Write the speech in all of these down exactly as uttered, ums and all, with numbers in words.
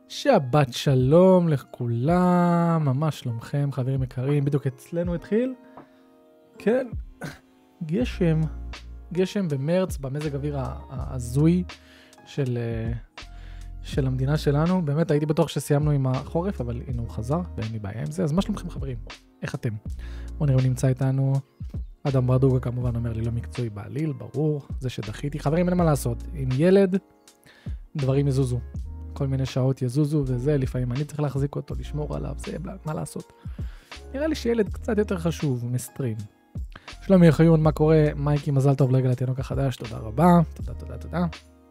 שבת שלום לכולם, ממש שלומכם חברים יקרים, בדיוק אצלנו התחיל, כן, גשם, גשם במרץ, במזג אוויר הזוי של, של המדינה שלנו, באמת הייתי בטוח שסיימנו עם החורף, אבל הנה הוא חזר ואין לי בעיה עם זה, אז מה שלומכם חברים, איך אתם? בוא נראה, הוא נמצא איתנו, אדם ברדוגה כמובן אומר לי לא מקצועי בעליל, ברור, זה שדחיתי, חברים אין מה לעשות, עם ילד דברים יזוזו. כל מיני שעות יזוזו וזה, לפעמים אני צריך להחזיק אותו, לשמור עליו, זה מה לעשות. נראה לי שילד קצת יותר חשוב מסטרים. שלומי יחיון, מה קורה? מייקי, מזל טוב לרגל התינוק החדש, תודה רבה. תודה, תודה, תודה.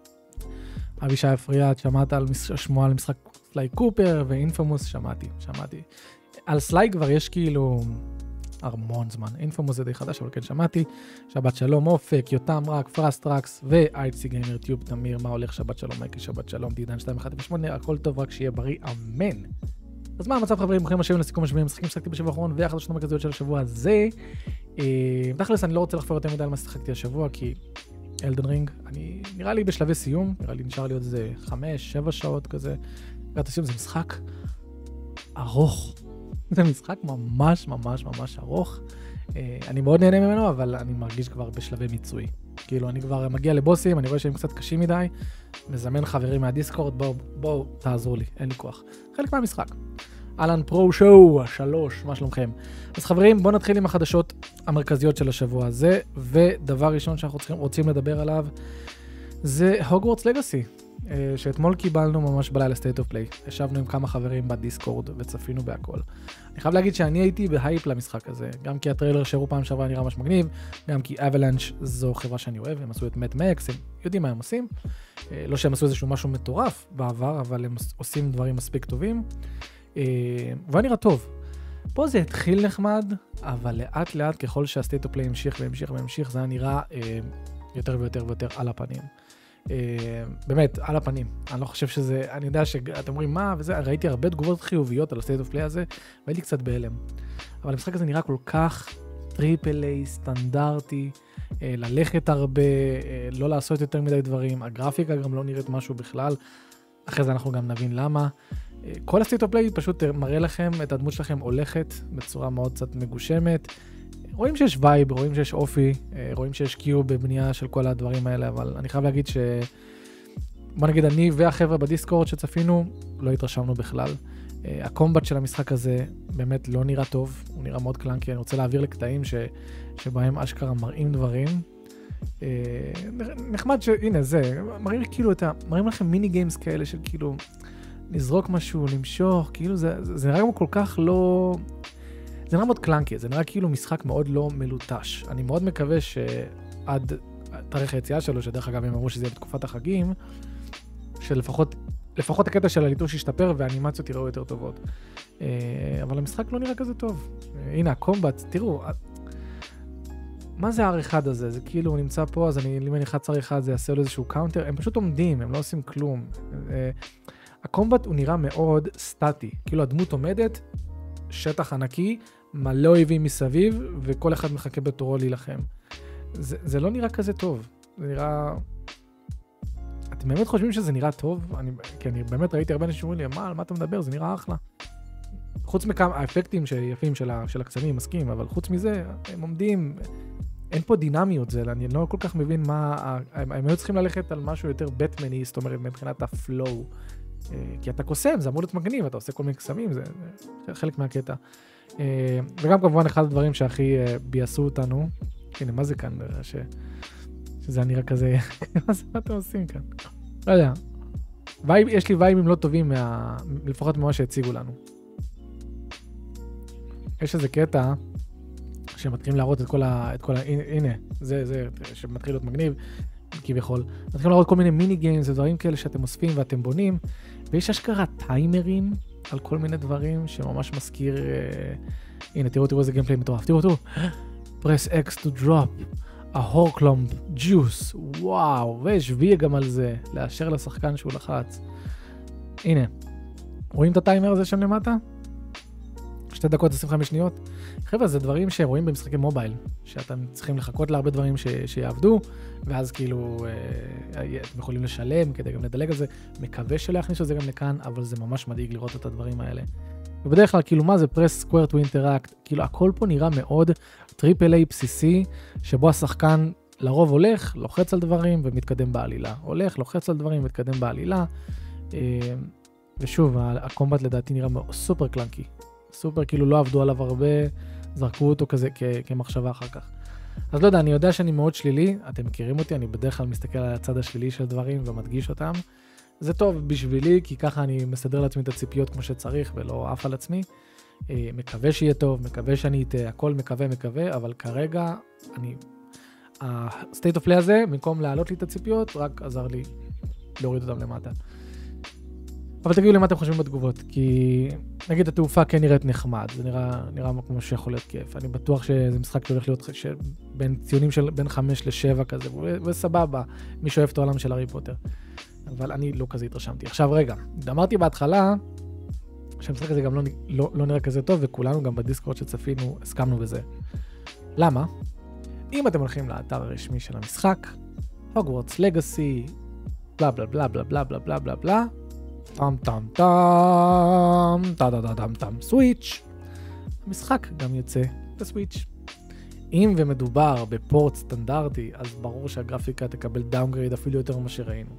אבישי אפריאט, שמעת על שמועה על משחק סליי קופר, ואינפומוס, שמעתי, שמעתי. על סליי כבר יש כאילו המון זמן. אינפומוס זה די חדש, אבל כן שמעתי. שבת שלום, אופק, יותם רק, פרסטרקס, ואייצי גיימר טיוב, תמיר, מה הולך? שבת שלום, מייקי, שבת שלום, דידן שתיים אחת שמונה, הכל טוב, רק שיהיה בריא, אמן. אז מה המצב חברים? ברוכים השבים לסיכום השבועים, משחקים ששחקתי בשבוע האחרון, והחדשות המרכזיות של השבוע הזה. תכלס, אני לא רוצה לחפור יותר מדי על מה ששחקתי השבוע, כי אלדן רינג, אני נראה לי בשלבי סיום, נראה לי נשאר לי עוד איזה חמש, שבע שעות כזה. הסיום זה משחק ארוך. זה משחק ממש ממש ממש ארוך. אני מאוד נהנה ממנו, אבל אני מרגיש כבר בשלבי מיצוי. כאילו, אני כבר מגיע לבוסים, אני רואה שהם קצת קשים מדי, מזמן חברים מהדיסקורד, בואו, בואו, תעזרו לי, אין לי כוח. חלק מהמשחק. אלן פרו שואו, שלוש, מה שלומכם? אז חברים, בואו נתחיל עם החדשות המרכזיות של השבוע הזה, ודבר ראשון שאנחנו צריכים, רוצים לדבר עליו, זה הוגוורטס לגאסי. שאתמול קיבלנו ממש בלילה State of Play. ישבנו עם כמה חברים בדיסקורד וצפינו בהכל. אני חייב להגיד שאני הייתי בהייפ למשחק הזה, גם כי הטריילר שהראו פעם שעברה נראה ממש מגניב, גם כי Avalanche זו חברה שאני אוהב, הם עשו את Mad Max, הם יודעים מה הם עושים. לא שהם עשו איזשהו משהו מטורף בעבר, אבל הם עושים דברים מספיק טובים. ואני נראה טוב. פה זה התחיל נחמד, אבל לאט לאט ככל שה-State of Play המשיך והמשיך והמשיך, זה היה נראה יותר ויותר ויותר על הפנים. Uh, באמת, על הפנים. אני לא חושב שזה, אני יודע שאתם אומרים מה וזה, ראיתי הרבה תגובות חיוביות על ה-State of Play הזה, והייתי קצת בהלם. אבל המשחק הזה נראה כל כך טריפל איי, סטנדרטי, uh, ללכת הרבה, uh, לא לעשות יותר מדי דברים, הגרפיקה גם לא נראית משהו בכלל, אחרי זה אנחנו גם נבין למה. Uh, כל ה-State of Play פשוט מראה לכם, את הדמות שלכם הולכת בצורה מאוד קצת מגושמת, רואים שיש וייב, רואים שיש אופי, רואים שיש קיו בבנייה של כל הדברים האלה, אבל אני חייב להגיד ש... בוא נגיד, אני והחבר'ה בדיסקורד שצפינו, לא התרשמנו בכלל. הקומבט של המשחק הזה באמת לא נראה טוב, הוא נראה מאוד קלנקי, אני רוצה להעביר לקטעים ש... שבהם אשכרה מראים דברים. נחמד ש... הנה זה, מראים כאילו את ה... מראים לכם מיני גיימס כאלה של כאילו... נזרוק משהו, למשוך, כאילו זה, זה נראה כמו כל כך לא... זה נראה מאוד קלנקי, זה נראה כאילו משחק מאוד לא מלוטש. אני מאוד מקווה שעד תאריך היציאה שלו, שדרך אגב הם אמרו שזה יהיה בתקופת החגים, שלפחות לפחות הקטע של הליטוש ישתפר והאנימציות יראו יותר טובות. אבל המשחק לא נראה כזה טוב. הנה, הקומבט, תראו, מה זה האר אחד הזה? זה כאילו הוא נמצא פה, אז אני, אם אני אחד אר אחד זה יעשה לו איזשהו קאונטר, הם פשוט עומדים, הם לא עושים כלום. הקומבט הוא נראה מאוד סטטי, כאילו הדמות עומדת, שטח ענקי, מלא אויבים מסביב, וכל אחד מחכה בתורו להילחם. זה, זה לא נראה כזה טוב. זה נראה... אתם באמת חושבים שזה נראה טוב? אני, כי אני באמת ראיתי הרבה אנשים שאומרים לי, מה, על מה אתה מדבר? זה נראה אחלה. חוץ מכמה, האפקטים שיפים של, ה, של הקסמים, מסכים, אבל חוץ מזה, הם עומדים, אין פה דינמיות זה, אני לא כל כך מבין מה... הם, הם היו צריכים ללכת על משהו יותר בטמני, זאת אומרת, מבחינת הפלואו. כי אתה קוסם, זה אמור להיות מגניב, אתה עושה כל מיני קסמים, זה, זה חלק מהקטע. וגם כמובן אחד הדברים שהכי בייסו אותנו, הנה, מה זה כאן? ש... שזה נראה כזה, מה זה, מה אתם עושים כאן? לא יודע. וייב, יש לי וייבים לא טובים, מה... לפחות ממה שהציגו לנו. יש איזה קטע, שמתחילים להראות את כל ה... את כל ה... הנה, זה, זה, שמתחיל להיות מגניב, כביכול. מתחילים להראות כל מיני מיני גיימס ודברים כאלה שאתם אוספים ואתם בונים, ויש אשכרה טיימרים על כל מיני דברים שממש מזכיר... אה, הנה, תראו, תראו איזה גיימפליי מטורף. תראו, תראו. press X to drop a horklump juice. וואו, ויש וי גם על זה, לאשר לשחקן שהוא לחץ. הנה, רואים את הטיימר הזה שם למטה? שתי דקות עשרים וחמש שניות. חבר'ה, זה דברים שרואים במשחקי מובייל, שאתם צריכים לחכות להרבה דברים ש... שיעבדו, ואז כאילו אה, אתם יכולים לשלם כדי גם לדלג על זה. מקווה שלא יכניסו את זה גם לכאן, אבל זה ממש מדאיג לראות את הדברים האלה. ובדרך כלל, כאילו מה זה press square to interact, כאילו הכל פה נראה מאוד טריפל איי בסיסי, שבו השחקן לרוב הולך, לוחץ על דברים ומתקדם בעלילה. הולך, לוחץ על דברים ומתקדם בעלילה. ושוב, הקומבט לדעתי נראה סופר קלנקי. סופר, כאילו לא עבדו עליו הרבה, זרקו אותו כזה כ- כמחשבה אחר כך. אז לא יודע, אני יודע שאני מאוד שלילי, אתם מכירים אותי, אני בדרך כלל מסתכל על הצד השלילי של דברים ומדגיש אותם. זה טוב בשבילי, כי ככה אני מסדר לעצמי את הציפיות כמו שצריך, ולא עף על עצמי. מקווה שיהיה טוב, מקווה שאני אתן, הכל מקווה, מקווה, אבל כרגע אני... ה-state of play הזה, במקום להעלות לי את הציפיות, רק עזר לי להוריד אותם למטה. אבל תגידו לי מה אתם חושבים בתגובות, כי נגיד התעופה כן נראית נחמד, זה נראה, נראה כמו שיכול להיות כיף. אני בטוח שזה משחק שהולך להיות בין ציונים של בין חמש לשבע כזה, וסבבה, מי שאוהב את העולם של הארי פוטר. אבל אני לא כזה התרשמתי. עכשיו רגע, אמרתי בהתחלה, שהמשחק הזה גם לא, לא, לא נראה כזה טוב, וכולנו גם בדיסקורד שצפינו, הסכמנו בזה. למה? אם אתם הולכים לאתר הרשמי של המשחק, Hogwarts Legacy, בלה בלה בלה בלה בלה בלה בלה בלה בלה, טם טם טם, טה טה טה טם טם, סוויץ'. המשחק גם יוצא בסוויץ'. אם ומדובר בפורט סטנדרטי, אז ברור שהגרפיקה תקבל דאונגרייד אפילו יותר ממה שראינו.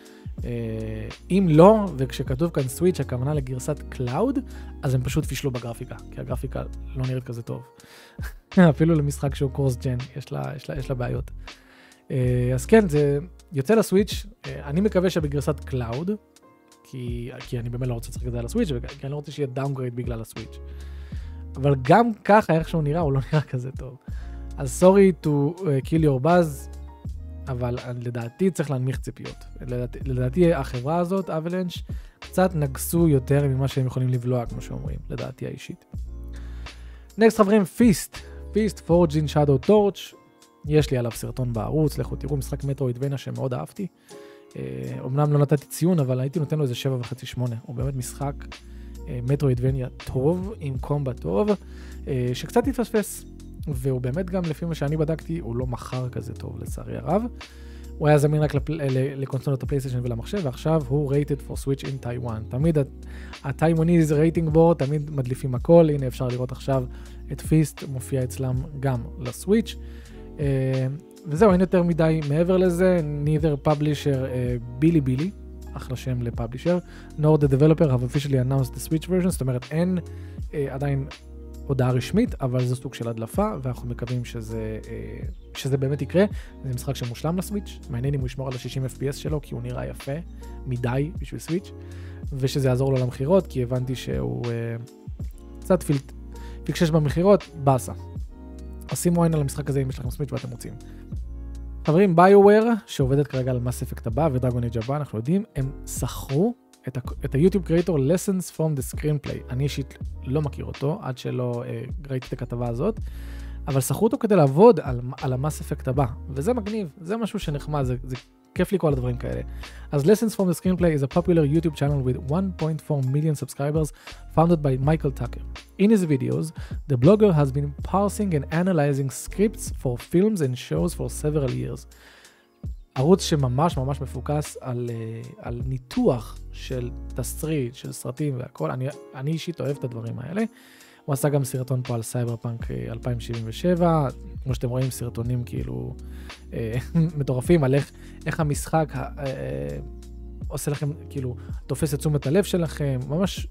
אם לא, וכשכתוב כאן סוויץ' הכוונה לגרסת קלאוד, אז הם פשוט פישלו בגרפיקה, כי הגרפיקה לא נראית כזה טוב. אפילו למשחק שהוא קורס ג'ן, יש לה, יש לה, יש לה בעיות. אז כן, זה יוצא לסוויץ', אני מקווה שבגרסת קלאוד, כי, כי אני באמת לא רוצה לשחק את זה על הסוויץ', כי אני לא רוצה שיהיה דאונגרייד בגלל הסוויץ'. אבל גם ככה, איך שהוא נראה, הוא לא נראה כזה טוב. אז sorry to kill your buzz, אבל לדעתי צריך להנמיך ציפיות. לדעתי, לדעתי החברה הזאת, אבלנץ', קצת נגסו יותר ממה שהם יכולים לבלוע, כמו שאומרים, לדעתי האישית. נקסט חברים, פיסט. פיסט, Forged in Shadow Torch. יש לי עליו סרטון בערוץ, לכו תראו, משחק מטרואידבניה שמאוד אהבתי. אומנם לא נתתי ציון, אבל הייתי נותן לו איזה שבע וחצי שמונה. הוא באמת משחק מטרואידבניה טוב, עם קומבט טוב, שקצת התפספס. והוא באמת גם, לפי מה שאני בדקתי, הוא לא מחר כזה טוב, לצערי הרב. הוא היה זמין רק לקונסולות הפלייסטיישן ולמחשב, ועכשיו הוא rated for Switch in Taiwan. תמיד הטייוואניז רייטינג בורד, תמיד מדליפים הכל. הנה אפשר לראות עכשיו את פיסט, מופיע אצלם גם לסוויץ'. וזהו, אין יותר מדי מעבר לזה. neither publisher בילי בילי, אחלה שם לפאבלישר, nor the developer have officially announced the Switch version, זאת אומרת אין עדיין הודעה רשמית, אבל זה סוג של הדלפה, ואנחנו מקווים שזה, שזה באמת יקרה. זה משחק שמושלם לסוויץ', מעניין אם הוא ישמור על ה-שישים אף פי אס שלו, כי הוא נראה יפה מדי בשביל סוויץ', ושזה יעזור לו למחירות, כי הבנתי שהוא קצת פילט, פיקשש במחירות, באסה. אז שימו עין על המשחק הזה אם יש לכם סוויץ' ואתם רוצים. חברים, ביואוור, שעובדת כרגע על Mass Effect הבא ודרגון אייג' הבא, אנחנו יודעים, הם שכרו את, ה- את היוטיוב קריאטור Lessons from the Screenplay. אני אישית לא מכיר אותו, עד שלא אה, ראיתי את הכתבה הזאת, אבל שכרו אותו כדי לעבוד על, על ה-Mass Effect הבא, וזה מגניב, זה משהו שנחמד, זה, זה כיף לי כל הדברים כאלה. אז Lessons from the Screenplay is a popular YouTube channel with one point four million subscribers founded by Michael Tucker. In his videos, the blogger has been parsing and analyzing scripts for films and shows for several years. ערוץ שממש ממש מפוקס על, על ניתוח של תסריט, של סרטים והכל. אני, אני אישית אוהב את הדברים האלה. הוא עשה גם סרטון פה על סייברפאנק אלפיים שבעים ושבע, כמו שאתם רואים סרטונים כאילו אה, מטורפים על איך, איך המשחק אה, אה, עושה לכם, כאילו תופס את תשומת הלב שלכם, ממש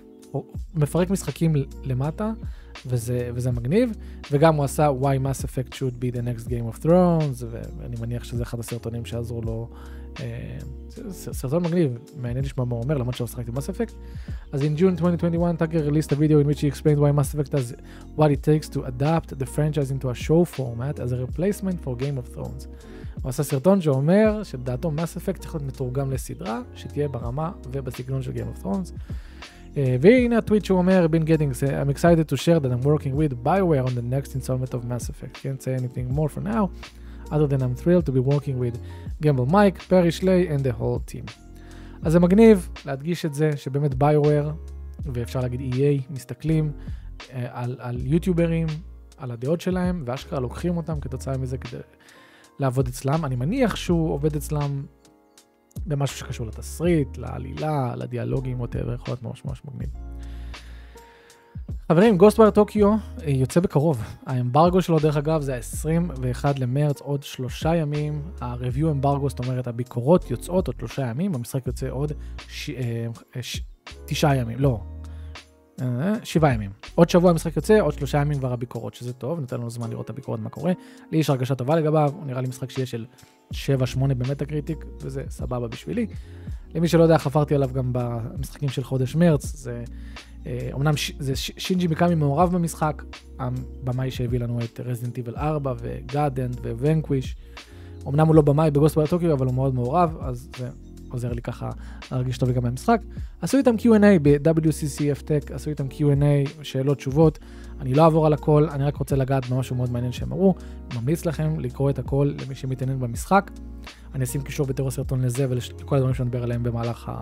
מפרק משחקים למטה, וזה, וזה מגניב. וגם הוא עשה Why Mass Effect should be the next Game of Thrones, ואני מניח שזה אחד הסרטונים שעזרו לו. אה, סרטון מגניב, מעניין לשמוע מה הוא אומר, למרות שהוא שחק את Mass Effect. אז in June twenty twenty-one, Tucker released a video in which he explained why Mass Effect does what it takes to adapt the franchise into a show format as a replacement for Game of Thrones. הוא עשה סרטון שאומר שדעתו Mass Effect צריך להיות מתורגם לסדרה, שתהיה ברמה ובסגנון של Game of Thrones. Uh, והנה הטוויט שהוא אומר, been getting, I'm excited to share that I'm working with BioWare on the next installment of Mass Effect. Can't say anything more for now, other than I'm thrilled to be working with Gamble Mike, Perry Schley and the whole team. אז זה מגניב להדגיש את זה, שבאמת BioWare, ואפשר להגיד E A, מסתכלים על, על יוטיוברים, על הדעות שלהם, ואשכרה לוקחים אותם כתוצאה מזה כדי לעבוד אצלם. אני מניח שהוא עובד אצלם במשהו שקשור לתסריט, לעלילה, לדיאלוגים, whatever, יכול להיות ממש ממש מגניב. חברים, Ghostwire טוקיו יוצא בקרוב. האמברגו שלו, דרך אגב, זה ה-עשרים ואחד למרץ, עוד שלושה ימים. ה-review אמברגו, זאת אומרת, הביקורות יוצאות עוד שלושה ימים, המשחק יוצא עוד ש... ש... תשעה ימים, לא, שבעה ימים. עוד שבוע המשחק יוצא, עוד שלושה ימים כבר הביקורות, שזה טוב, נותן לנו זמן לראות את הביקורות, מה קורה. לי יש הרגשה טובה לגביו, הוא נראה לי משחק שיש של שבע שמונה במטה-קריטיק, וזה סבבה בשבילי. למי שלא יודע, חפרתי עליו גם במשחקים של חודש מרץ, זה... אמנם זה שינג'י מיקאמי מעורב במשחק, הבמאי שהביא לנו את Resident Evil ארבע ו-God End ו-Vanquish. אמנם הוא לא במאי ב-Ghostwire טוקיו, אבל הוא מאוד מעורב, אז זה עוזר לי ככה להרגיש טוב גם במשחק. עשו איתם קיו אנד איי ב-דאבליו סי סי אף Tech, עשו איתם קיו אנד איי, שאלות, תשובות. אני לא אעבור על הכל, אני רק רוצה לגעת במשהו מאוד מעניין שהם אמרו. ממליץ לכם לקרוא את הכל למי שמתעניין במשחק. אני אשים קישור בתיאור הסרטון לזה ולכל הדברים שנדבר עליהם במהלך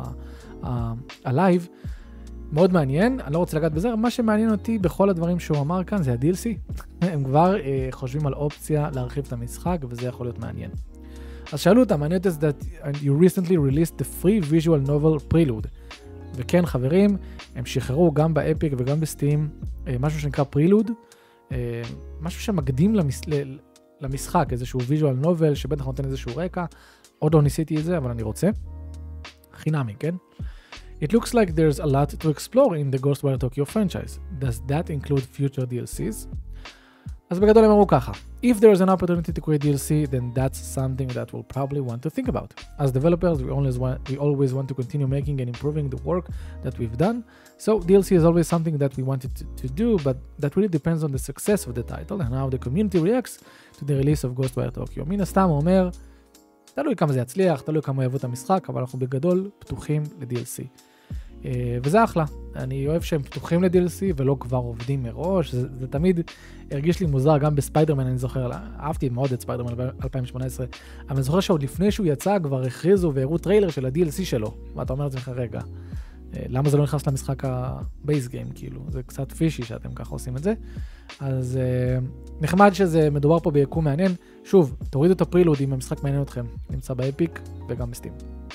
הלייב. מאוד מעניין, אני לא רוצה לגעת בזה, מה שמעניין אותי בכל הדברים שהוא אמר כאן זה ה-די אל סי. הם כבר uh, חושבים על אופציה להרחיב את המשחק, וזה יכול להיות מעניין. אז שאלו אותם, I noticed that you recently released the free visual novel Prelude. וכן חברים, הם שחררו גם באפיק וגם בסטים, uh, משהו שנקרא Prelude, uh, משהו שמקדים למש... למשחק, איזשהו visual novel, שבטח נותן איזשהו רקע, עוד לא ניסיתי את זה, אבל אני רוצה. חינמי, כן? It looks like there's a lot to explore in the Ghostwire Tokyo franchise. Does that include future די אל סי's? אז בגדול הם אמרו ככה. If there's an opportunity to create די אל סי, then that's something that we'll probably want to think about. As developers, we always want, we always want to continue making and improving the work that we've done. So די אל סי is always something that we wanted to, to do, but that really depends on the success of the title and how the community reacts to the release of Ghostwire Tokyo. מן הסתם הוא אומר, תלוי כמה זה יצליח, תלוי כמה יאהבו את המשחק, אבל אנחנו בגדול פתוחים ל-די אל סי. Uh, וזה אחלה, אני אוהב שהם פתוחים ל-די אל סי ולא כבר עובדים מראש, זה, זה תמיד הרגיש לי מוזר, גם בספיידרמן אני זוכר, אהבתי מאוד את ספיידרמן אלפיים שמונה עשרה, אבל אני זוכר שעוד לפני שהוא יצא כבר הכריזו והראו טריילר של ה-די אל סי שלו, ואתה אומר את זה לך רגע, uh, למה זה לא נכנס למשחק הבייס גיים, כאילו, זה קצת פישי שאתם ככה עושים את זה, אז uh, נחמד שזה מדובר פה ביקום מעניין, שוב, תורידו את הפרילוד אם המשחק מעניין אתכם, נמצא באפיק וגם בסטים.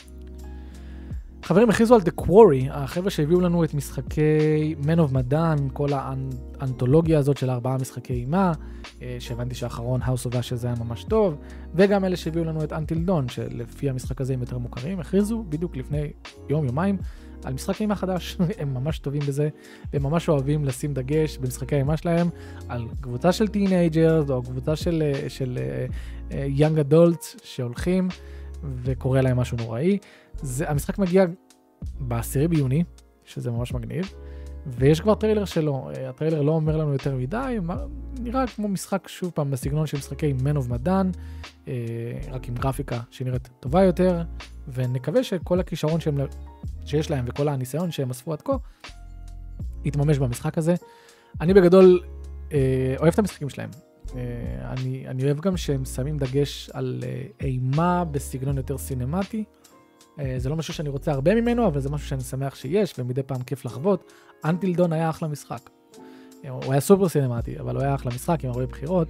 חברים, הכריזו על The Quarry, החבר'ה שהביאו לנו את משחקי Man of Medan, כל האנתולוגיה הזאת של ארבעה משחקי אימה, שהבנתי שהאחרון House of Ashes זה היה ממש טוב, וגם אלה שהביאו לנו את Until Dawn, שלפי המשחק הזה הם יותר מוכרים, הכריזו בדיוק לפני יום, יומיים, על משחק אימה חדש, הם ממש טובים בזה, והם ממש אוהבים לשים דגש במשחקי האימה שלהם, על קבוצה של טינאג'רס, או קבוצה של, של uh, young adults שהולכים, וקורה להם משהו נוראי. זה, המשחק מגיע בעשירי ביוני, שזה ממש מגניב, ויש כבר טריילר שלו. הטריילר לא אומר לנו יותר מדי, נראה כמו משחק שוב פעם בסגנון של משחקי Man of Medan, רק עם גרפיקה שנראית טובה יותר, ונקווה שכל הכישרון שהם, שיש להם וכל הניסיון שהם אספו עד כה, יתממש במשחק הזה. אני בגדול אוהב את המשחקים שלהם. אני, אני אוהב גם שהם שמים דגש על אימה בסגנון יותר סינמטי. זה לא משהו שאני רוצה הרבה ממנו, אבל זה משהו שאני שמח שיש, ומדי פעם כיף לחוות. Until Dawn היה אחלה משחק. הוא היה סופר סינמטי, אבל הוא היה אחלה משחק עם הרבה בחירות.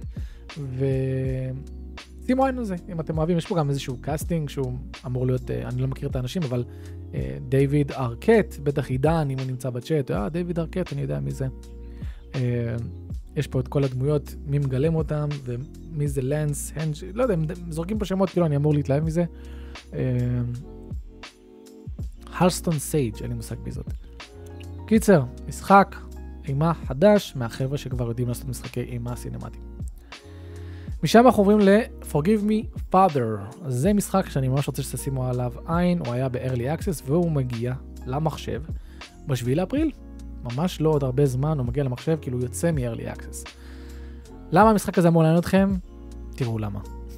ושימו עין על זה, אם אתם אוהבים. יש פה גם איזשהו קאסטינג שהוא אמור להיות, אני לא מכיר את האנשים, אבל דיוויד ארקט, בטח עידן, אם הוא נמצא בצ'אט, אה, דיוויד ארקט, אני יודע מי זה. יש פה את כל הדמויות, מי מגלם אותם, ומי זה לנס, הנג', לא יודע, הם זורקים פה שמות, כאילו אני אמור להתלהב מזה. הרסטון סייג', אין לי מושג בזאת. קיצר, משחק אימה חדש, מהחבר'ה שכבר יודעים לעשות משחקי אימה סינמטיים. משם אנחנו עוברים ל-Forgive Me Father. זה משחק שאני ממש רוצה שתשימו עליו עין, הוא היה ב-Early Access, והוא מגיע למחשב בשביעי לאפריל. ממש לא עוד הרבה זמן, הוא מגיע למחשב, כאילו הוא יוצא מ-Early Access. למה המשחק הזה אמור לעניין אתכם? תראו למה.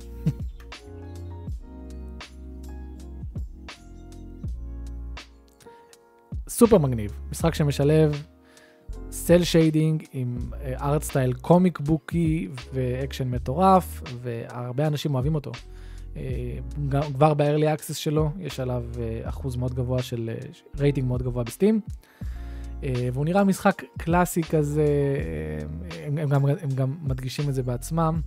סופר מגניב, משחק שמשלב סל שיידינג עם ארט סטייל קומיק בוקי ואקשן מטורף, והרבה אנשים אוהבים אותו. כבר ב-Early Access שלו יש עליו אחוז מאוד גבוה של רייטינג מאוד גבוה בסטים. והוא נראה משחק קלאסי כזה, הם, הם, גם, הם גם מדגישים את זה בעצמם.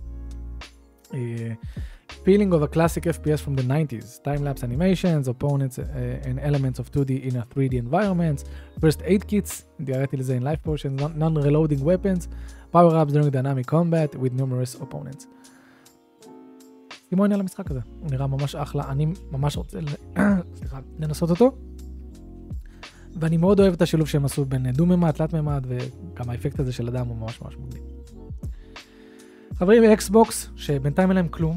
Feeling of a classic F P S from the nineties, time-lapse animations, opponents uh, and elements of two D in a three D environments, first aid kits, דיארתי לזה in life potions, non-reloading weapons, power-ups during dynamic combat with numerous opponents. שימו עניין למשחק הזה, הוא נראה ממש אחלה, אני ממש רוצה סליחה, לנסות אותו, ואני מאוד אוהב את השילוב שהם עשו בין דו-ממד, תלת-ממד, וגם האפקט הזה של אדם הוא ממש ממש מגניב. חברים באקסבוקס, שבינתיים אין להם כלום,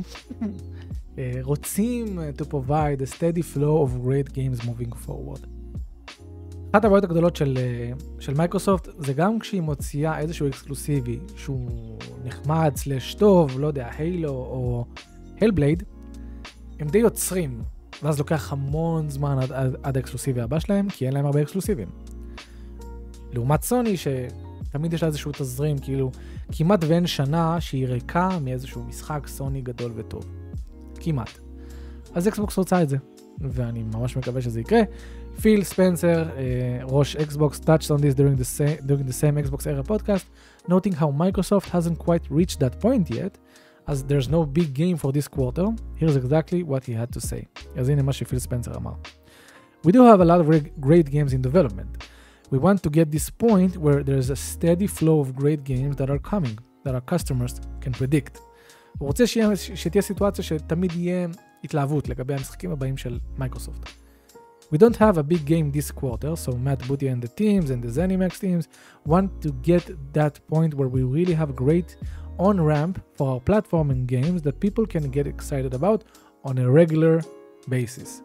רוצים to provide a steady flow of great games moving forward. אחת הבעיות הגדולות של, של מייקרוסופט, זה גם כשהיא מוציאה איזשהו אקסקלוסיבי, שהוא נחמד, סלש טוב, לא יודע, הילו או הלבלייד, הם די יוצרים, ואז לוקח המון זמן עד, עד, עד האקסקלוסיבי הבא שלהם, כי אין להם הרבה אקסקלוסיבים. לעומת סוני, שתמיד יש לה איזשהו תזרים, כאילו, כמעט ואין שנה שהיא ריקה מאיזשהו משחק סוני גדול וטוב. כמעט. אז אקסבוקס רוצה את זה, ואני ממש מקווה שזה יקרה. פיל ספנסר, ראש אקסבוקס, touched on this during the same, during the same Xbox Era podcast, noting how Microsoft hasn't quite reached that point yet, as there's no big game for this quarter. Here's exactly what he had to say. אז הנה מה שפיל ספנסר אמר. We do have a lot of great games in development. We want to get this point where there's a steady flow of great games that are coming, that our customers can predict. הוא רוצה שיה, שתהיה סיטואציה שתמיד יהיה התלהבות לגבי המשחקים הבאים של מייקרוסופט. We don't have a big game this quarter, so Matt Booty and the teams and the ZeniMax teams want to get that point where we really have great on-ramp for our platform and games that people can get excited about on a regular basis.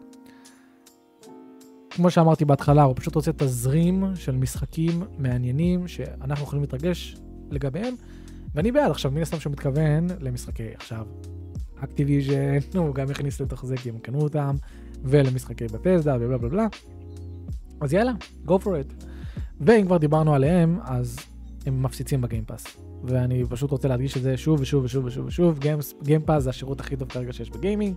כמו שאמרתי בהתחלה, הוא פשוט רוצה תזרים של משחקים מעניינים שאנחנו יכולים להתרגש לגביהם, ואני בעד. עכשיו, מן הסתם שהוא מתכוון למשחקי עכשיו אקטיביז'ן, הוא גם יכניס לתוך זה כי הם קנו אותם, ולמשחקי בתסדה ובלה בלה בלה. אז יאללה, go for it. ואם כבר דיברנו עליהם, אז הם מפציצים בגיימפאס. ואני פשוט רוצה להדגיש את זה שוב ושוב ושוב ושוב ושוב. גיימפאס זה השירות הכי טוב כרגע שיש בגיימינג.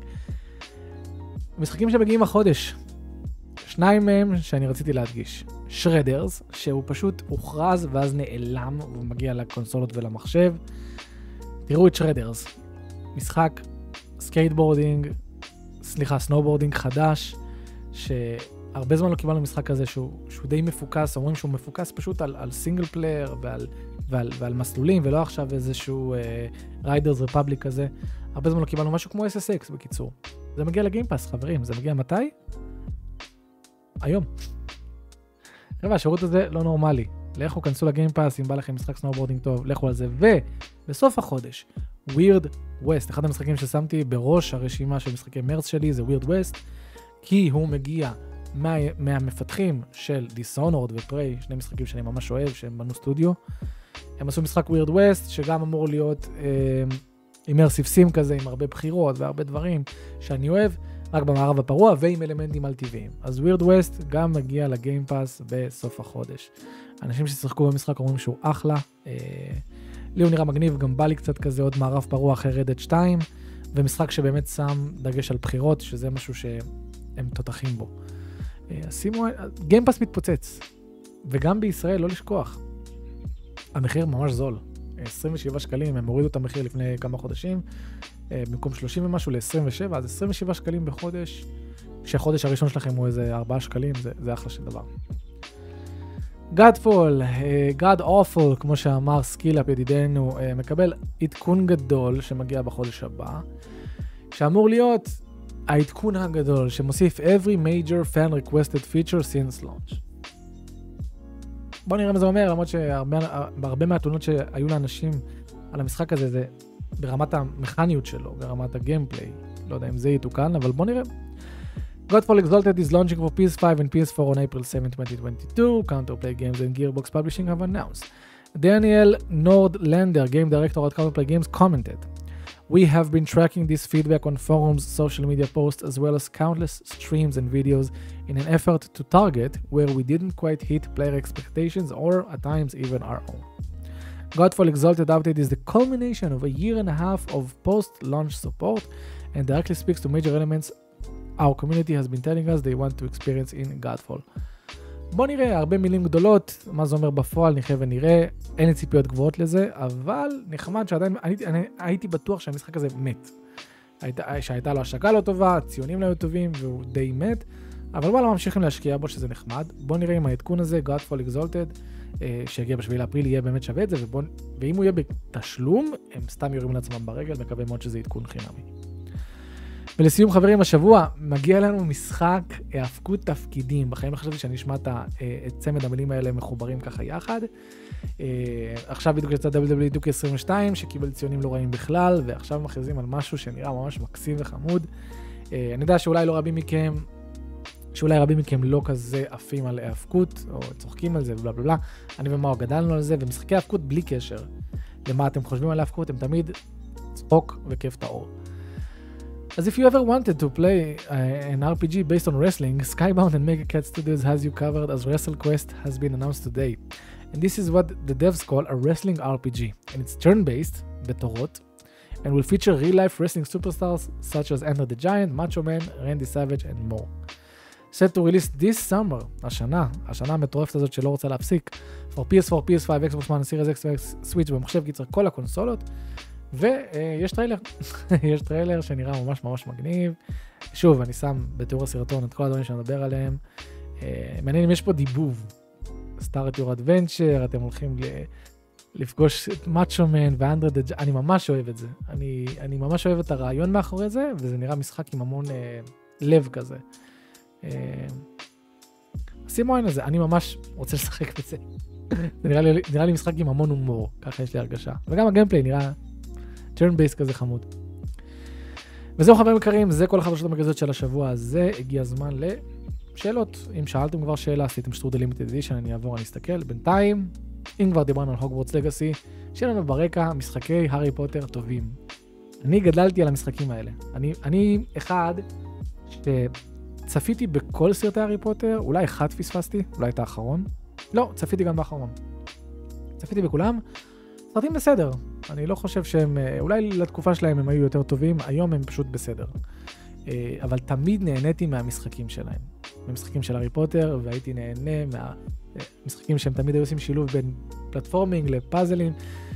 משחקים שמגיעים החודש. שניים מהם שאני רציתי להדגיש. שרדרס, שהוא פשוט הוכרז ואז נעלם, והוא מגיע לקונסולות ולמחשב. תראו את שרדרס. משחק סקייטבורדינג, סליחה, סנובורדינג חדש, שהרבה זמן לא קיבלנו משחק כזה שהוא, שהוא די מפוקס, אומרים שהוא מפוקס פשוט על, על סינגל פלייר ועל, ועל, ועל מסלולים, ולא עכשיו איזשהו ריידרס uh, רפבליק כזה. הרבה זמן לא קיבלנו משהו כמו אס אס אקס בקיצור. זה מגיע לגיימפאס, חברים. זה מגיע מתי? היום. חבר'ה, השירות הזה לא נורמלי. לכו, כנסו לגיימפאס, אם בא לכם משחק סנובורדינג טוב, לכו על זה. ובסוף החודש, Weird West, אחד המשחקים ששמתי בראש הרשימה של משחקי מרץ שלי, זה Weird West, כי הוא מגיע מה, מהמפתחים של Dishonored ופריי, שני משחקים שאני ממש אוהב, שהם בנו סטודיו. הם עשו משחק Weird West, שגם אמור להיות אימרסיב סים כזה, עם הרבה בחירות והרבה דברים שאני אוהב, רק במערב הפרוע ועם אלמנטים על טבעיים. אז Weird West גם מגיע לגיימפאס בסוף החודש. אנשים ששיחקו במשחק אומרים שהוא אחלה, אה, לי הוא נראה מגניב, גם בא לי קצת כזה עוד מערב פרוע אחרי רדד שתיים, ומשחק שבאמת שם דגש על בחירות, שזה משהו שהם תותחים בו. שימו, גיימפאס מתפוצץ, וגם בישראל, לא לשכוח. המחיר ממש זול, עשרים ושבעה שקלים, הם הורידו את המחיר לפני כמה חודשים, במקום שלושים ומשהו ל-עשרים ושבע, אז עשרים ושבעה שקלים בחודש, כשהחודש הראשון שלכם הוא איזה ארבעה שקלים, זה, זה אחלה של דבר. Godfall, God Awful, כמו שאמר סקילאפ ידידנו, מקבל עדכון גדול שמגיע בחודש הבא, שאמור להיות העדכון הגדול שמוסיף every major fan requested feature since launch. בואו נראה מה זה אומר, למרות שהרבה מהתלונות שהיו לאנשים על המשחק הזה, זה ברמת המכניות שלו, ברמת הגיימפליי. לא יודע אם זה יתוקן, אבל בואו נראה. Godfall Exalted is launching for P S five and P S four on April seventh, twenty twenty-two. Counterplay Games and Gearbox Publishing have announced. Daniel Nordlander, game director at Counterplay Games, commented, "We have been tracking this feedback on forums, social media posts, as well as countless streams and videos in an effort to target where we didn't quite hit player expectations or at times even our own. Godfall Exalted update is the culmination of a year and a half of post-launch support and directly speaks to major elements our community has been telling us they want to experience in Godfall." בוא נראה, הרבה מילים גדולות, מה זה אומר בפועל, נחיה ונראה, אין לי ציפיות גבוהות לזה, אבל נחמד שעדיין, אני, אני הייתי בטוח שהמשחק הזה מת. הייתה, שהייתה לו השקה לא טובה, ציונים לא היו טובים, והוא די מת, אבל וואלה, ממשיכים להשקיע בו שזה נחמד. בוא נראה אם העדכון הזה, Godfall Exalted, שהגיע בשביעי לאפריל, יהיה באמת שווה את זה, ובוא, ואם הוא יהיה בתשלום, הם סתם יורים לעצמם ברגל, מקווה מאוד שזה עדכון חינמי. ולסיום חברים, השבוע מגיע לנו משחק האבקות תפקידים. בחיים חשבתי שאני אשמע את צמד המילים האלה מחוברים ככה יחד. עכשיו בדיוק יצא דאבליו דאבליו אי טו קיי עשרים ושתיים, שקיבל ציונים לא רעים בכלל, ועכשיו מכריזים על משהו שנראה ממש מקסים וחמוד. אני יודע שאולי לא רבים מכם, שאולי רבים מכם לא כזה עפים על האבקות, או צוחקים על זה ובלה בלה בלה. אני ומאו גדלנו על זה, ומשחקי האבקות בלי קשר למה אתם חושבים על האבקות, הם תמיד צחוק וכיף טהור. As if you ever wanted to play uh, an R P G based on wrestling, Skybound and MegaCat Studios has you covered as WrestleQuest has been announced today. And this is what the devs call a wrestling R P G. And it's turn-based, בתורות, and will feature real-life wrestling superstars such as Enter the Giant, Macho Man, Randy Savage, and more. Set to release this summer, השנה, השנה המטורפת הזאת שלא רוצה להפסיק, for פי אס פור, פי אס פייב, Xbox One, Series X, Switch במחשב קיצר, כל הקונסולות. ויש טריילר, יש טריילר שנראה ממש ממש מגניב. שוב, אני שם בתיאור הסרטון את כל הדברים שאני מדבר עליהם. מעניין אם יש פה דיבוב. Start Your Adventure, אתם הולכים לפגוש את מאצ'ו מן ואנדרה דה ג'יינט, אני ממש אוהב את זה. אני, אני ממש אוהב את הרעיון מאחורי זה, וזה נראה משחק עם המון אה, לב כזה. אה, שימו עין על זה, אני ממש רוצה לשחק בזה. זה נראה לי, נראה לי משחק עם המון הומור, ככה יש לי הרגשה. וגם הגיימפליי נראה turn based כזה חמוד. וזהו חברים יקרים, זה כל החדשות המרכזיות של השבוע הזה. הגיע הזמן לשאלות. אם שאלתם כבר שאלה, עשיתם שטרודל לימיטד אדישן, אני אעבור, אני אסתכל. בינתיים, אם כבר דיברנו על הוגוורטס לגאסי, שיהיה לנו ברקע משחקי הארי פוטר טובים. אני גדלתי על המשחקים האלה. אני, אני אחד שצפיתי בכל סרטי הארי פוטר, אולי אחד פספסתי, אולי את האחרון. לא, צפיתי גם באחרון. צפיתי בכולם. סרטים בסדר. אני לא חושב שהם, אולי לתקופה שלהם הם היו יותר טובים, היום הם פשוט בסדר. אבל תמיד נהניתי מהמשחקים שלהם. מהמשחקים של הארי פוטר, והייתי נהנה מהמשחקים שהם תמיד היו עושים שילוב בין פלטפורמינג לפאזלים.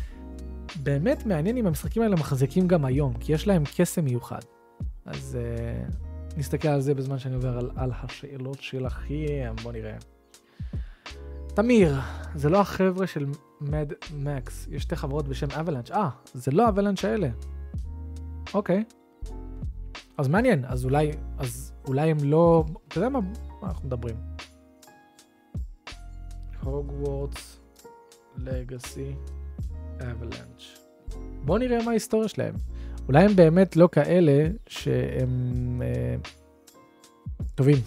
באמת מעניין אם המשחקים האלה מחזיקים גם היום, כי יש להם קסם מיוחד. אז נסתכל על זה בזמן שאני עובר על, על השאלות שלכם. בוא נראה. תמיר, זה לא החבר'ה של מד מקס, יש שתי חברות בשם אבלנץ'. אה, זה לא אבלנץ' האלה. אוקיי. אז מעניין, אז אולי, אז אולי הם לא, אתה יודע מה, מה אנחנו מדברים? הוגוורטס לגאסי אבלנץ'. בוא נראה מה ההיסטוריה שלהם. אולי הם באמת לא כאלה שהם אה, טובים.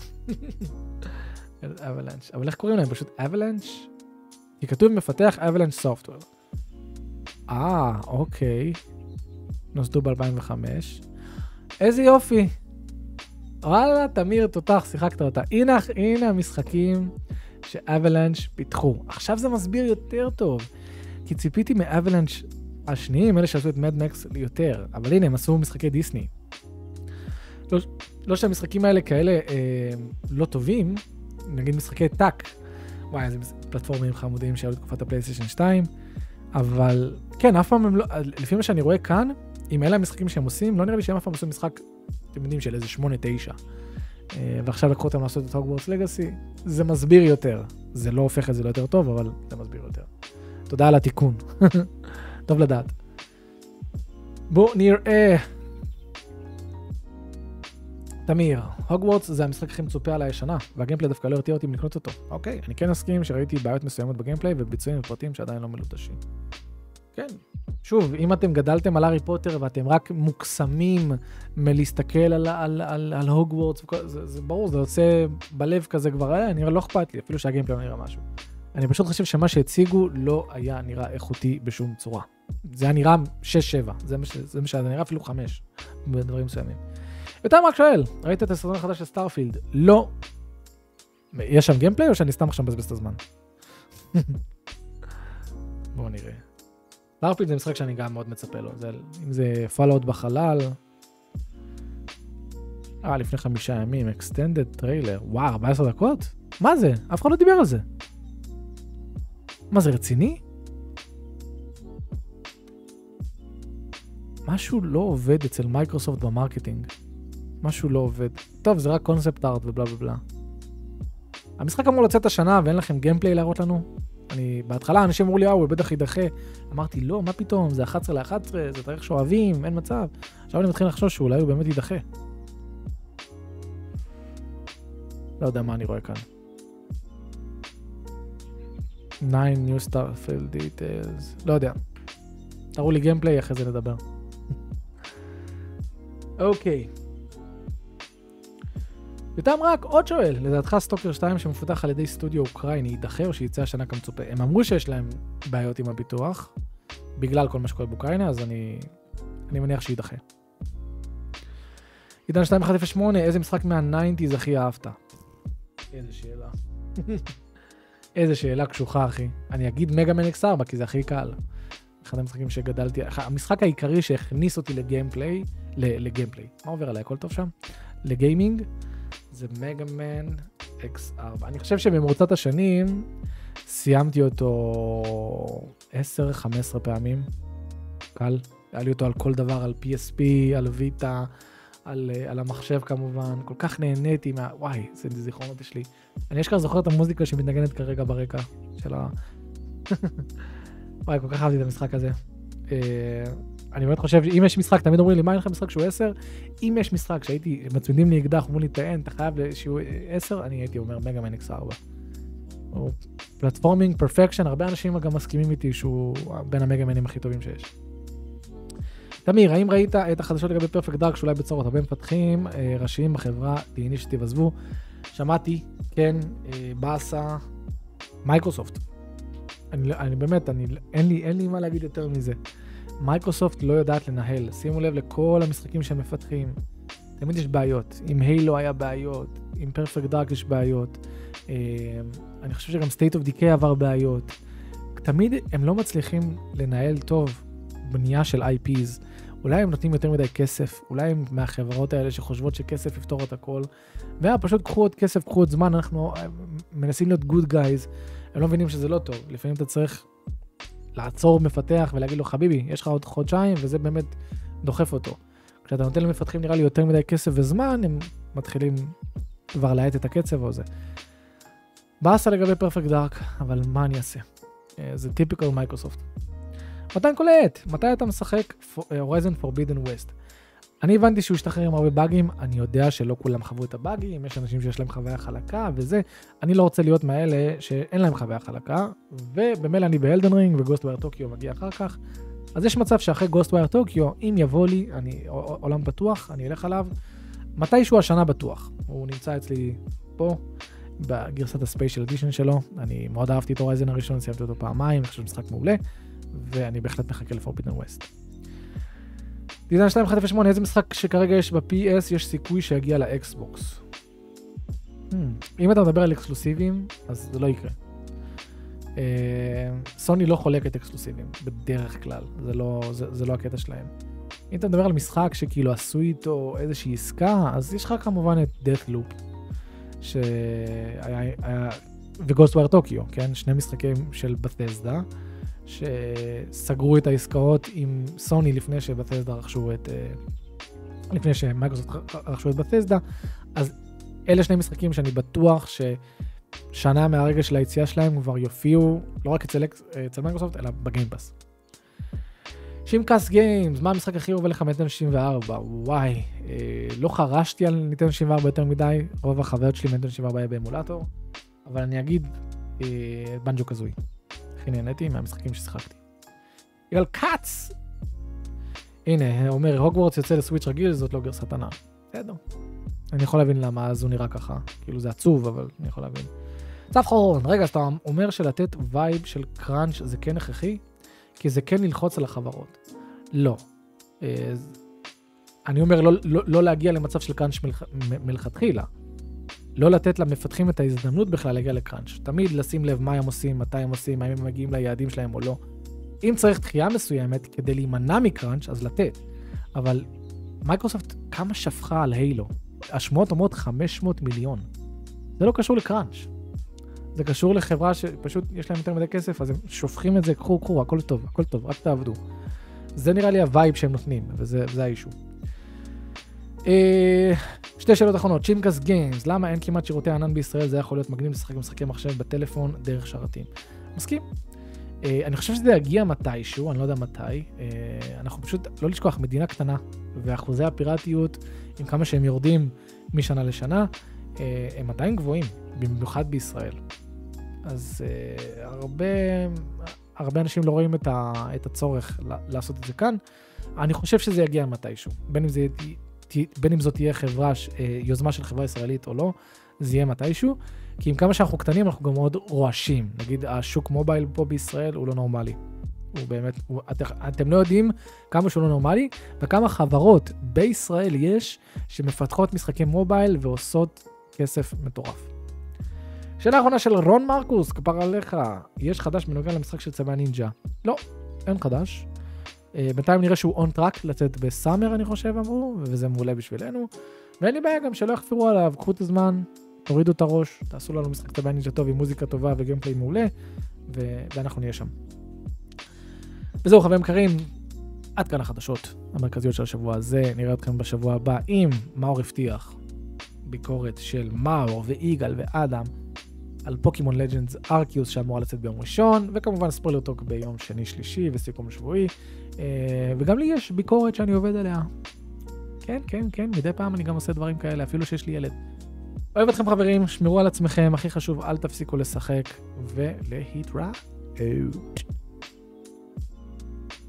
אבלנץ'. אבל איך קוראים להם? פשוט אבלנץ'? כי כתוב מפתח אבלנץ' סופטוור. אה, אוקיי. נוסדו ב-אלפיים וחמש. איזה יופי. וואלה, תמיר, תותח, שיחקת אותה. הנה, הנה המשחקים שאבלנץ' פיתחו. עכשיו זה מסביר יותר טוב. כי ציפיתי מאבלנץ' השניים, אלה שעשו את מד מקס יותר. אבל הנה, הם עשו משחקי דיסני. לא, לא שהמשחקים האלה כאלה אה, לא טובים, נגיד משחקי טאק, וואי, איזה פלטפורמים חמודים שהיו לתקופת הפלייסטיישן שתיים, אבל כן, אף פעם הם לא, לפי מה שאני רואה כאן, עם אלה המשחקים שהם עושים, לא נראה לי שהם אף פעם עשו משחק, אתם יודעים, של איזה שמונה תשע, ועכשיו לקחו אותם לעשות את הוגוורטס לגאסי, זה מסביר יותר, זה לא הופך את זה ליותר טוב, אבל זה מסביר יותר. תודה על התיקון, טוב לדעת. בואו נראה. תמיר, הוגוורטס זה המשחק הכי מצופה על הישנה, והגיימפליי דווקא לא הרתיע אותי לקנות אותו. אוקיי, אני כן אסכים שראיתי בעיות מסוימות בגיימפליי וביצועים ופרטים שעדיין לא מלוטשים. כן, שוב, אם אתם גדלתם על הארי פוטר ואתם רק מוקסמים מלהסתכל על, על, על, על הוגוורטס, זה, זה ברור, זה יוצא בלב כזה כבר, אה, נראה לא אכפת לי, אפילו שהגיימפליי לא נראה משהו. אני פשוט חושב שמה שהציגו לא היה נראה איכותי בשום צורה. זה היה נראה שש שבע, זה מה שזה, זה נראה אפילו חמש, בדברים מסוימים. יותר רק שואל, ראית את הסרטון החדש של סטארפילד? לא. יש שם גיימפליי או שאני סתם עכשיו מבזבז את הזמן? בואו נראה. סטארפילד זה משחק שאני גם מאוד מצפה לו. זה, אם זה פאלאוט בחלל. אה, לפני חמישה ימים, extended trailer, וואו, ארבע עשרה דקות? מה זה? אף אחד לא דיבר על זה. מה זה, רציני? משהו לא עובד אצל מייקרוסופט במרקטינג. משהו לא עובד. טוב, זה רק קונספט ארט ובלה בלה בלה. המשחק אמור לצאת השנה ואין לכם גיימפליי להראות לנו? אני, בהתחלה אנשים אמרו לי, אה, הוא בטח יידחה. אמרתי, לא, מה פתאום? זה אחת עשרה לאחת עשרה, זה תאריך שאוהבים, אין מצב. עכשיו אני מתחיל לחשוש שאולי הוא באמת יידחה. לא יודע מה אני רואה כאן. nine new Starfield details. לא יודע. תראו לי גיימפליי, אחרי זה נדבר. אוקיי. יותם רק עוד שואל, לדעתך סטוקר שתיים שמפותח על ידי סטודיו אוקראיני יידחה או שיצא השנה כמצופה? הם אמרו שיש להם בעיות עם הביטוח, בגלל כל מה שקורה באוקראינה, אז אני, אני מניח שידחה. עידן שתיים אחת אפס שמונה, איזה משחק מה-תשעים הכי אהבת? איזה שאלה. איזה שאלה קשוחה, אחי. אני אגיד מגה מן אקס ארבע, כי זה הכי קל. אחד המשחקים שגדלתי, המשחק העיקרי שהכניס אותי לגיימפליי, לגיימפליי. מה עובר עליי? הכל טוב שם? לגיימינג, זה מגה מן אקס ארבע. אני חושב שבמרוצת השנים סיימתי אותו עשר חמש עשרה פעמים. קל. היה לי אותו על כל דבר, על פי אס פי, על ויטה, על, על המחשב כמובן. כל כך נהניתי מה... וואי, זה זיכרונות יש לי. אני אשכרה זוכר את המוזיקה שמתנגנת כרגע ברקע של ה... וואי, כל כך אהבתי את המשחק הזה. אני באמת חושב, אם יש משחק, תמיד אומרים לי, מה אין לך משחק שהוא עשר? אם יש משחק שהייתי, מצמידים לי אקדח, אומרים לי, טען, אתה חייב שהוא עשר, אני הייתי אומר, מגה מן אקס ארבע. או פלטפורמינג, פרפקשן, הרבה אנשים גם מסכימים איתי שהוא בין המגה מנים הכי טובים שיש. תמיר, האם ראית את החדשות לגבי פרפקט דארק, שאולי בצורות הרבה מפתחים ראשיים בחברה, תהייני שתבזבו? שמעתי, כן, באסה, מייקרוסופט. אני, אני באמת, אני, אין לי, אין לי מה להגיד יותר מזה. מייקרוסופט לא יודעת לנהל. שימו לב לכל המשחקים שהם מפתחים. תמיד יש בעיות. עם הילו היה בעיות. עם פרפקט דארק יש בעיות. אני חושב שגם State of Decay עבר בעיות. תמיד הם לא מצליחים לנהל טוב בנייה של איי פיז. אולי הם נותנים יותר מדי כסף. אולי הם מהחברות האלה שחושבות שכסף יפתור את הכל. ופשוט קחו עוד כסף, קחו עוד זמן. אנחנו מנסים להיות good guys. הם לא מבינים שזה לא טוב. לפעמים אתה צריך לעצור מפתח ולהגיד לו, חביבי, יש לך עוד חודשיים, וזה באמת דוחף אותו. כשאתה נותן למפתחים נראה לי יותר מדי כסף וזמן, הם מתחילים כבר להאט את הקצב או זה. באסה לגבי פרפקט דארק, אבל מה אני אעשה? זה טיפיקל מייקרוסופט. מתן קולט, מתי אתה משחק Horizon Forbidden West? אני הבנתי שהוא השתחרר עם הרבה באגים, אני יודע שלא כולם חוו את הבאגים, יש אנשים שיש להם חוויה חלקה וזה, אני לא רוצה להיות מאלה שאין להם חוויה חלקה, ובמילא אני באלדן רינג וגוסטווייר טוקיו מגיע אחר כך, אז יש מצב שאחרי גוסטווייר טוקיו, אם יבוא לי, אני עולם פתוח, אני אלך עליו, מתישהו השנה בטוח, הוא נמצא אצלי פה, בגרסת הספיישל אדישן שלו, אני מאוד אהבתי את הורייזן הראשון, סיימתי אותו פעמיים, אני חושב משחק מעולה, ואני בהחלט מחכה לפורבידן ווסט. דיזיין שתיים אחת אפס שמונה, איזה משחק שכרגע יש ב-פי אס, יש סיכוי שיגיע לאקסבוקס? Hmm. אם אתה מדבר על אקסקלוסיבים, אז זה לא יקרה. סוני לא חולקת אקסקלוסיבים, בדרך כלל, זה לא, זה, זה לא הקטע שלהם. אם אתה מדבר על משחק שכאילו עשו איתו איזושהי עסקה, אז יש לך כמובן את Deathloop, שהיה, היה, וגוסטווייר טוקיו, כן? שני משחקים של בת'סדה, שסגרו את העסקאות עם סוני לפני שבת'סדה רכשו את, לפני שמייקרוסופט רכשו את בת'סדה, אז אלה שני משחקים שאני בטוח ששנה מהרגע של היציאה שלהם כבר יופיעו, לא רק אצל, אצל מייקרוסופט, אלא בגיימפאס. שימקאס גיימס, מה המשחק הכי אוהב לך מ-ניטנדו שישים וארבע? וואי, אה, לא חרשתי על ניטנדו שישים וארבע יותר מדי, רוב החוויות שלי מ-ניטנדו שישים וארבע היה באמולטור, אבל אני אגיד אה, בנג'ו קזוי. הכי נהניתי מהמשחקים ששיחקתי. יגאל קאץ! הנה, אומר, הוגוורטס יוצא לסוויץ' רגיל, זאת לא גרסת ענן. בסדר. אני יכול להבין למה אז הוא נראה ככה. כאילו זה עצוב, אבל אני יכול להבין. צף חורון, רגע, אז אתה אומר שלתת וייב של קראנץ' זה כן הכרחי? כי זה כן ללחוץ על החברות. לא. אני אומר לא, לא, לא להגיע למצב של קראנץ' מלכ... מלכתחילה. לא לתת למפתחים את ההזדמנות בכלל להגיע לקראנץ'. תמיד לשים לב מה הם עושים, מתי הם עושים, האם הם מגיעים ליעדים שלהם או לא. אם צריך דחייה מסוימת כדי להימנע מקראנץ', אז לתת. אבל מייקרוסופט כמה שפכה על הילו. השמועות אומרות חמש מאות מיליון. זה לא קשור לקראנץ'. זה קשור לחברה שפשוט יש להם יותר מדי כסף, אז הם שופכים את זה, קחו, קחו, הכל טוב, הכל טוב, רק תעבדו. זה נראה לי הווייב שהם נותנים, וזה זה האישו. שתי שאלות אחרונות, צ'ימקס גיימס, למה אין כמעט שירותי ענן בישראל? זה יכול להיות מגניב לשחק משחקי מחשב בטלפון דרך שרתים. מסכים? אני חושב שזה יגיע מתישהו, אני לא יודע מתי. אנחנו פשוט, לא לשכוח, מדינה קטנה, ואחוזי הפיראטיות, עם כמה שהם יורדים משנה לשנה, הם עדיין גבוהים, במיוחד בישראל. אז הרבה, הרבה אנשים לא רואים את הצורך לעשות את זה כאן. אני חושב שזה יגיע מתישהו. בין אם זה בין אם זאת תהיה חברה, יוזמה של חברה ישראלית או לא, זה יהיה מתישהו, כי עם כמה שאנחנו קטנים, אנחנו גם מאוד רועשים. נגיד, השוק מובייל פה בישראל הוא לא נורמלי. הוא באמת, הוא, את, אתם לא יודעים כמה שהוא לא נורמלי, וכמה חברות בישראל יש שמפתחות משחקי מובייל ועושות כסף מטורף. שאלה האחרונה של רון מרקוס, כפר עליך, יש חדש בנוגע למשחק של צבע נינג'ה? לא, אין חדש. בינתיים נראה שהוא און טראק לצאת בסאמר, אני חושב, אמרו, וזה מעולה בשבילנו. ואין לי בעיה גם שלא יחפירו עליו, קחו את הזמן, תורידו את הראש, תעשו לנו משחק צבע נינג'ה טוב עם מוזיקה טובה וגיימפליי מעולה, ו- ואנחנו נהיה שם. וזהו חברים יקרים, עד כאן החדשות המרכזיות של השבוע הזה. נראה אתכם בשבוע הבא עם מאור הבטיח, ביקורת של מאור ואיגל ואדם, על פוקימון לג'נדס ארקיוס שאמורה לצאת ביום ראשון, וכמובן ספוילר טוק ביום שני שלישי וסיכום שבועי, וגם לי יש ביקורת שאני עובד עליה. כן, כן, כן, מדי פעם אני גם עושה דברים כאלה, אפילו שיש לי ילד. אוהב אתכם חברים, שמרו על עצמכם, הכי חשוב, אל תפסיקו לשחק, ולהתראות.